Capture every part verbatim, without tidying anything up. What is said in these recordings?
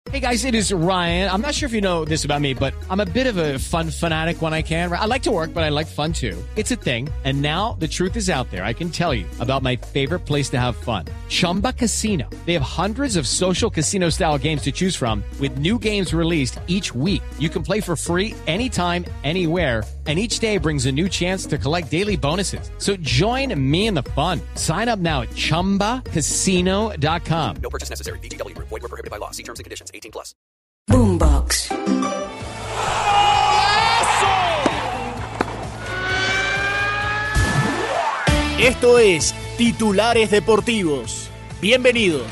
Hey guys, it is Ryan. I'm not sure if you know this about me, but I'm a bit of a fun fanatic when I can. I like to work, but I like fun too. It's a thing. And now the truth is out there. I can tell you about my favorite place to have fun. Chumba Casino. They have hundreds of social casino style games to choose from with new games released each week. You can play for free anytime, anywhere. And each day brings a new chance to collect daily bonuses. So join me in the fun. Sign up now at chumba casino dot com. No purchase necessary. V G W. Void where prohibited by law. See terms and conditions. eighteen plus. Boombox. Esto es Titulares Deportivos. Bienvenidos.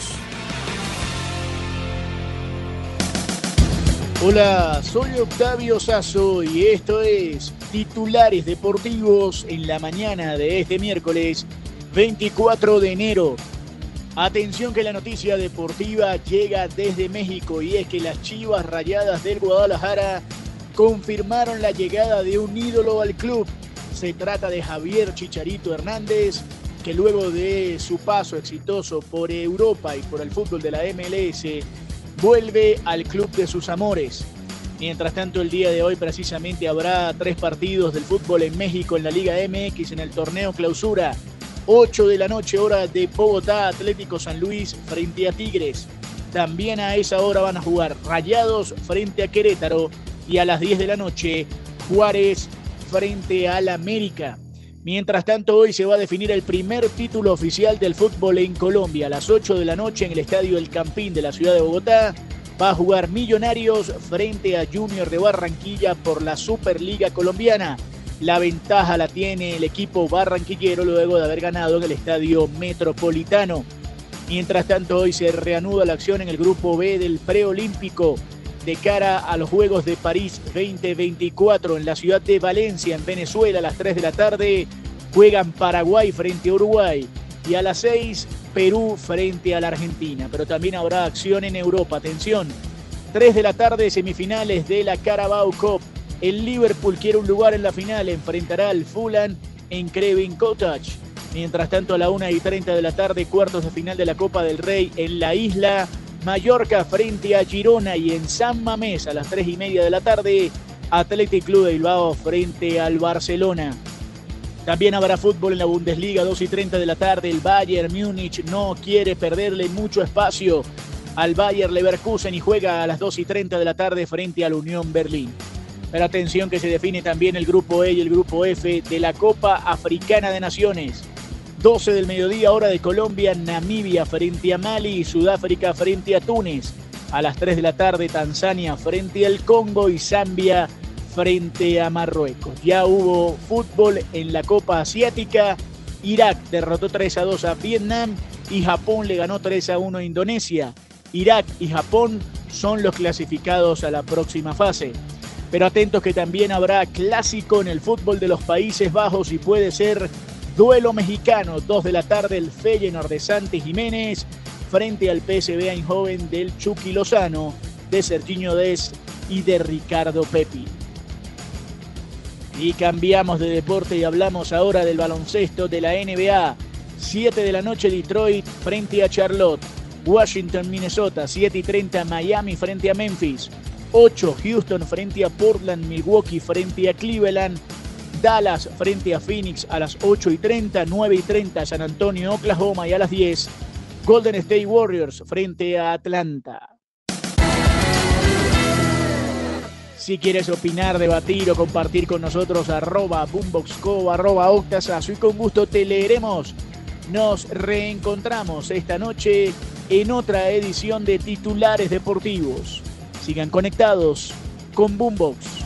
Hola, soy Octavio Sazo y esto es Titulares Deportivos en la mañana de este miércoles veinticuatro de enero. Atención que la noticia deportiva llega desde México y es que las Chivas Rayadas del Guadalajara confirmaron la llegada de un ídolo al club. Se trata de Javier Chicharito Hernández, que luego de su paso exitoso por Europa y por el fútbol de la M L S, vuelve al club de sus amores. Mientras tanto, el día de hoy precisamente habrá tres partidos del fútbol en México en la Liga M X en el torneo Clausura. ocho de la noche, hora de Bogotá, Atlético San Luis frente a Tigres. También a esa hora van a jugar Rayados frente a Querétaro y a las diez de la noche, Juárez frente al América. Mientras tanto, hoy se va a definir el primer título oficial del fútbol en Colombia. A las ocho de la noche en el Estadio El Campín de la ciudad de Bogotá va a jugar Millonarios frente a Junior de Barranquilla por la Superliga Colombiana. La ventaja la tiene el equipo barranquillero luego de haber ganado en el Estadio Metropolitano. Mientras tanto, hoy se reanuda la acción en el Grupo B del Preolímpico de cara a los Juegos de París veinte veinticuatro en la ciudad de Valencia, en Venezuela. A las tres de la tarde juegan Paraguay frente a Uruguay y a las seis Perú frente a la Argentina. Pero también habrá acción en Europa. Atención, tres de la tarde, semifinales de la Carabao Cup. El Liverpool quiere un lugar en la final, enfrentará al Fulham en Craven Cottage. Mientras tanto, a la una y treinta de la tarde, cuartos de final de la Copa del Rey en la isla, Mallorca frente a Girona, y en San Mamés a las tres y media de la tarde, Athletic Club de Bilbao frente al Barcelona. También habrá fútbol en la Bundesliga, dos y treinta de la tarde, el Bayern Múnich no quiere perderle mucho espacio al Bayer Leverkusen y juega a las dos y treinta de la tarde frente al Unión Berlín. Pero atención que se define también el Grupo E y el Grupo F de la Copa Africana de Naciones. doce del mediodía, hora de Colombia, Namibia frente a Mali y Sudáfrica frente a Túnez. A las tres de la tarde, Tanzania frente al Congo y Zambia frente a Marruecos. Ya hubo fútbol en la Copa Asiática. Irak derrotó tres a dos a Vietnam y Japón le ganó tres a uno a Indonesia. Irak y Japón son los clasificados a la próxima fase. Pero atentos que también habrá clásico en el fútbol de los Países Bajos y puede ser duelo mexicano. dos de la tarde, el Feyenoord de Santi Jiménez frente al P S V Eindhoven del Chucky Lozano, de Sergiño Dest y de Ricardo Pepi. Y cambiamos de deporte y hablamos ahora del baloncesto de la N B A. siete de la noche, Detroit frente a Charlotte. Washington, Minnesota, siete y treinta, Miami frente a Memphis. ocho, Houston frente a Portland, Milwaukee frente a Cleveland, Dallas frente a Phoenix a las ocho y treinta, nueve y treinta, San Antonio, Oklahoma, y a las diez, Golden State Warriors frente a Atlanta. Si quieres opinar, debatir o compartir con nosotros, arroba boomboxco, arroba octasazo, y con gusto te leeremos. Nos reencontramos esta noche en otra edición de Titulares Deportivos. Sigan conectados con Boombox.